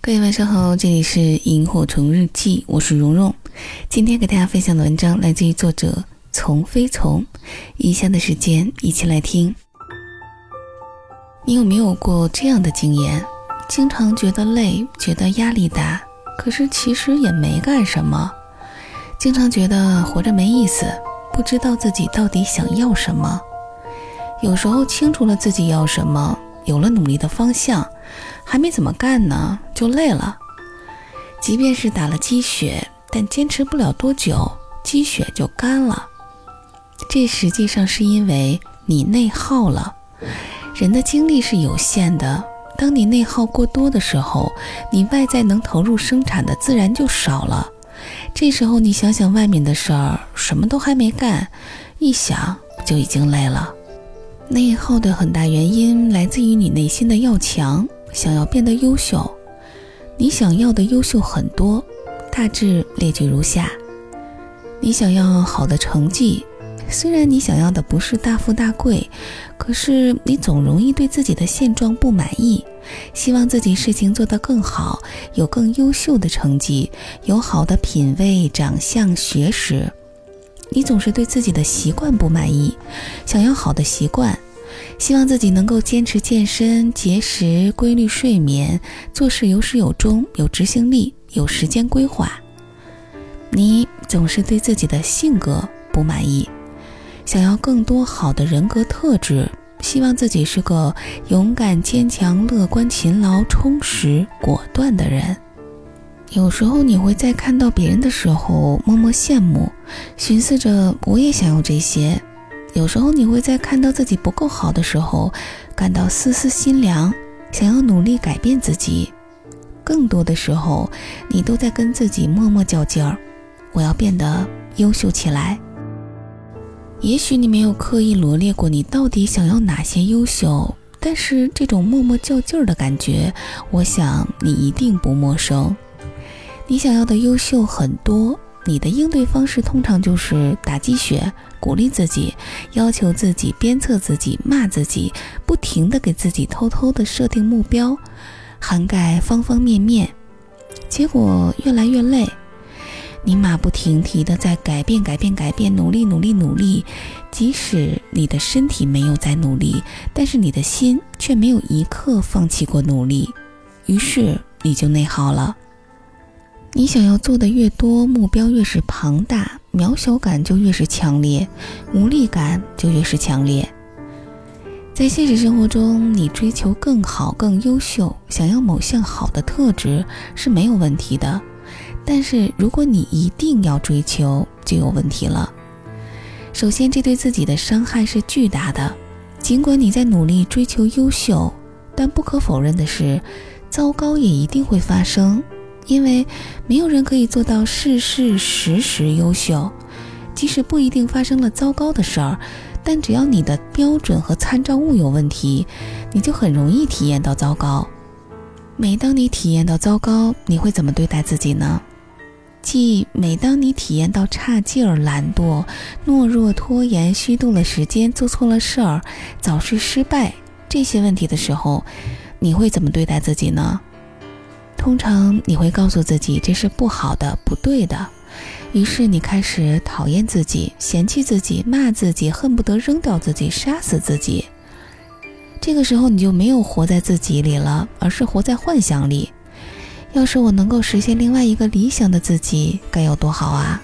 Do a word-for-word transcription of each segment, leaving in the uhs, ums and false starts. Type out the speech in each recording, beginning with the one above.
各位晚上好，这里是萤火虫日记，我是蓉蓉。今天给大家分享的文章来自于作者从非从。以下的时间一起来听。你有没有过这样的经验？经常觉得累，觉得压力大，可是其实也没干什么。经常觉得活着没意思，不知道自己到底想要什么。有时候清楚了自己要什么，有了努力的方向，还没怎么干呢，就累了。即便是打了鸡血，但坚持不了多久，鸡血就干了。这实际上是因为你内耗了。人的精力是有限的，当你内耗过多的时候，你外在能投入生产的自然就少了。这时候你想想外面的事儿，什么都还没干，一想就已经累了。内耗的很大原因来自于你内心的要强，想要变得优秀。你想要的优秀很多，大致列举如下。你想要好的成绩，虽然你想要的不是大富大贵，可是你总容易对自己的现状不满意，希望自己事情做得更好，有更优秀的成绩，有好的品味、长相、学识。你总是对自己的习惯不满意，想要好的习惯，希望自己能够坚持健身、节食、规律睡眠，做事有始有终，有执行力，有时间规划。你总是对自己的性格不满意，想要更多好的人格特质，希望自己是个勇敢、坚强、乐观、勤劳、充实、果断的人。有时候你会在看到别人的时候默默羡慕，寻思着我也想要这些。有时候你会在看到自己不够好的时候感到丝丝心凉，想要努力改变自己。更多的时候你都在跟自己默默较劲儿，我要变得优秀起来。也许你没有刻意罗列过你到底想要哪些优秀，但是这种默默较劲儿的感觉，我想你一定不陌生。你想要的优秀很多，你的应对方式通常就是打鸡血，鼓励自己，要求自己，鞭策自己，骂自己，不停地给自己偷偷地设定目标，涵盖方方面面，结果越来越累。你马不停蹄地在改变改变改变，努力努力努力，即使你的身体没有在努力，但是你的心却没有一刻放弃过努力，于是你就内耗了。你想要做的越多，目标越是庞大，渺小感就越是强烈，无力感就越是强烈。在现实生活中，你追求更好更优秀，想要某项好的特质是没有问题的，但是如果你一定要追求，就有问题了。首先，这对自己的伤害是巨大的。尽管你在努力追求优秀，但不可否认的是，糟糕也一定会发生。因为没有人可以做到事事时时优秀，即使不一定发生了糟糕的事儿，但只要你的标准和参照物有问题，你就很容易体验到糟糕。每当你体验到糟糕，你会怎么对待自己呢？即每当你体验到差劲儿、懒惰、懦弱、拖延、虚度了时间、做错了事儿、早睡失败这些问题的时候，你会怎么对待自己呢？通常你会告诉自己这是不好的、不对的，于是你开始讨厌自己、嫌弃自己、骂自己，恨不得扔掉自己、杀死自己。这个时候你就没有活在自己里了，而是活在幻想里。要是我能够实现另外一个理想的自己，该有多好啊！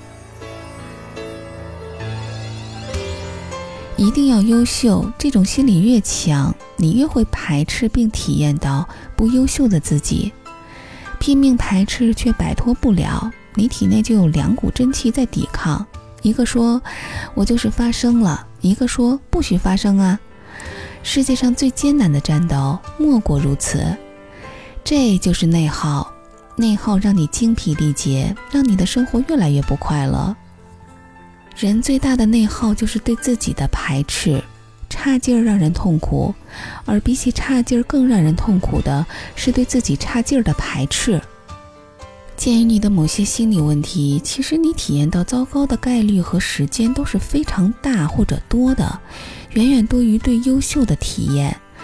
一定要优秀，这种心理越强，你越会排斥并体验到不优秀的自己。拼命排斥却摆脱不了，你体内就有两股真气在抵抗，一个说我就是发生了，一个说不许发生啊。世界上最艰难的战斗莫过如此。这就是内耗，内耗让你精疲力竭，让你的生活越来越不快乐。人最大的内耗就是对自己的排斥，差劲儿让人痛苦，而比起差劲儿更让人痛苦的是对自己差劲儿的排斥。鉴于你的某些心理问题，其实你体验到糟糕的概率和时间都是非常大或者多的，远远多于对优秀的体验。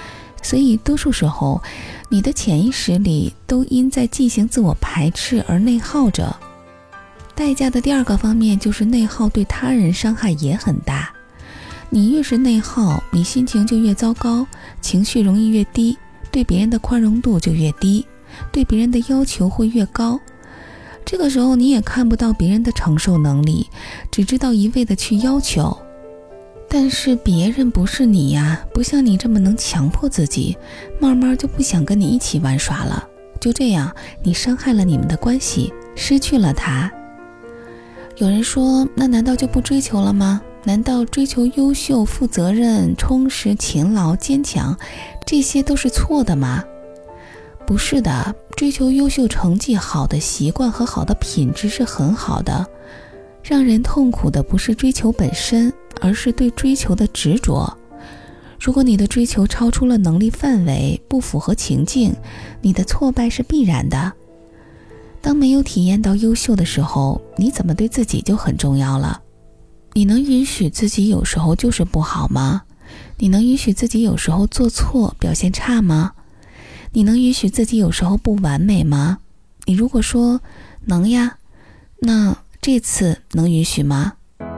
所以多数时候，你的潜意识里都因在进行自我排斥而内耗着。代价的第二个方面就是内耗对他人伤害也很大。你越是内耗，你心情就越糟糕，情绪容易越低，对别人的宽容度就越低，对别人的要求会越高。这个时候你也看不到别人的承受能力，只知道一味的去要求。但是别人不是你呀，不像你这么能强迫自己，慢慢就不想跟你一起玩耍了。就这样，你伤害了你们的关系，失去了他。有人说，那难道就不追求了吗？难道追求优秀、负责任、充实、勤劳、坚强，这些都是错的吗？不是的，追求优秀成绩、好的习惯和好的品质是很好的。让人痛苦的不是追求本身，而是对追求的执着。如果你的追求超出了能力范围，不符合情境，你的挫败是必然的。当没有体验到优秀的时候，你怎么对自己就很重要了。你能允许自己有时候就是不好吗？你能允许自己有时候做错、表现差吗？你能允许自己有时候不完美吗？你如果说能呀，那这次能允许吗？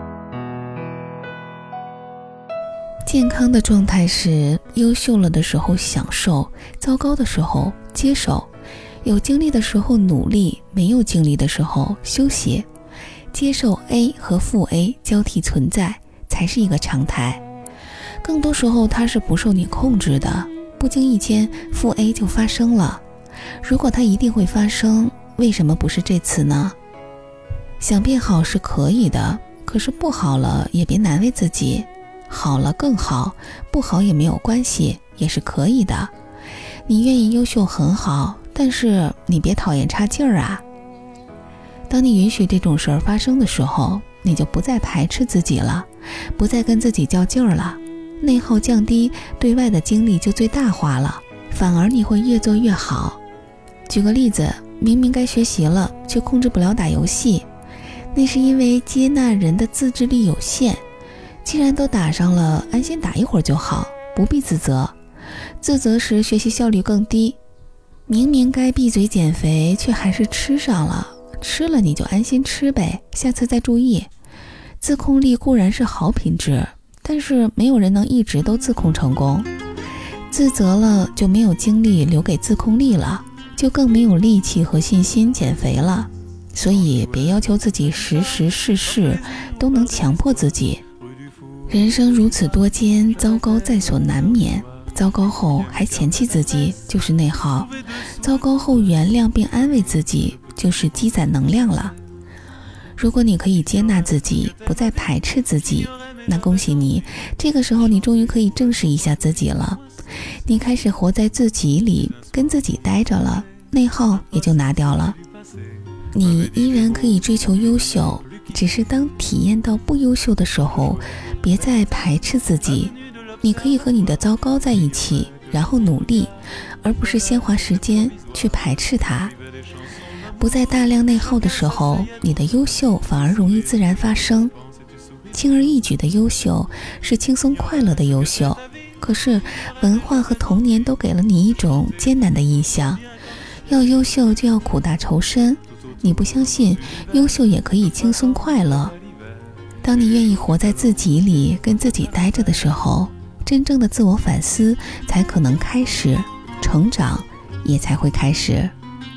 健康的状态是优秀了的时候享受，糟糕的时候接受，有精力的时候努力，没有精力的时候休息。接受 A 和负 A 交替存在才是一个常态。更多时候它是不受你控制的，不经意间负 A 就发生了。如果它一定会发生，为什么不是这次呢？想变好是可以的，可是不好了也别难为自己，好了更好，不好也没有关系，也是可以的。你愿意优秀很好，但是你别讨厌差劲儿啊。当你允许这种事儿发生的时候，你就不再排斥自己了，不再跟自己较劲儿了，内耗降低，对外的精力就最大化了，反而你会越做越好。举个例子，明明该学习了，却控制不了打游戏，那是因为接纳人的自制力有限。既然都打上了，安心打一会儿就好，不必自责。自责时学习效率更低。明明该闭嘴减肥，却还是吃上了，吃了你就安心吃呗，下次再注意。自控力固然是好品质，但是没有人能一直都自控成功。自责了就没有精力留给自控力了，就更没有力气和信心减肥了。所以别要求自己时时事事都能强迫自己。人生如此多艰，糟糕在所难免。糟糕后还嫌弃自己，就是内耗；糟糕后原谅并安慰自己，就是积攒能量了。如果你可以接纳自己，不再排斥自己，那恭喜你，这个时候你终于可以正视一下自己了。你开始活在自己里，跟自己待着了，内耗也就拿掉了。你依然可以追求优秀，只是当体验到不优秀的时候，别再排斥自己。你可以和你的糟糕在一起，然后努力，而不是先花时间去排斥它。不在大量内耗的时候，你的优秀反而容易自然发生。轻而易举的优秀是轻松快乐的优秀，可是文化和童年都给了你一种艰难的印象，要优秀就要苦大仇深。你不相信优秀也可以轻松快乐。当你愿意活在自己里，跟自己待着的时候，真正的自我反思才可能开始，成长也才会开始。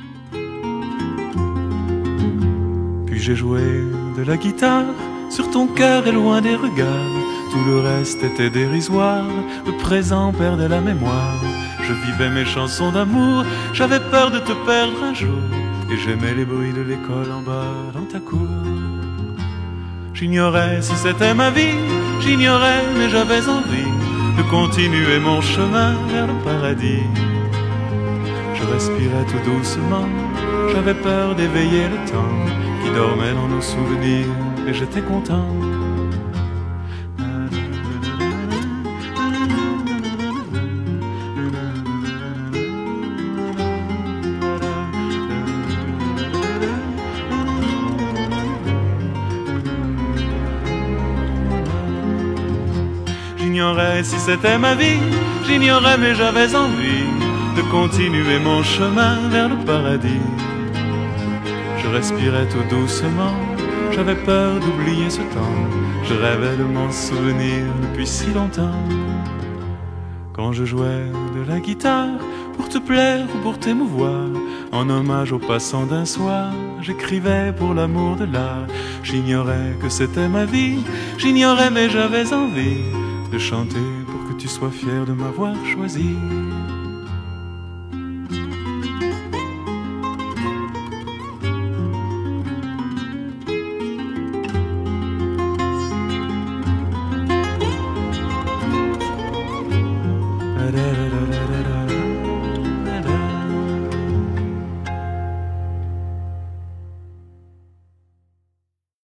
Puis j'ai joué de la guitare sur ton cœur et loin des regards. Tout le reste était dérisoire, le présent perdait la mémoire. Je vivais mes chansons d'amour, j'avais peur de te perdre un jour. Et j'aimais les bruits de l'école en bas dans ta cour. J'ignorais si c'était ma vie, j'ignorais mais j'avais envie de continuer mon chemin vers le paradis. Je respirais tout doucement, j'avais peur d'éveiller le temps qui dormait dans nos souvenirs, et j'étais content. J'ignorais si c'était ma vie, j'ignorais mais j'avais envie de continuer mon chemin vers le paradis. Je respirais tout doucement, j'avais peur d'oublier ce temps, je rêvais de m'en souvenir depuis si longtemps. Quand je jouais de la guitare, pour te plaire ou pour t'émouvoir, en hommage aux passants d'un soir, j'écrivais pour l'amour de l'art. J'ignorais que c'était ma vie, j'ignorais mais j'avais envie de chanter pour que tu sois fier de m'avoir choisi.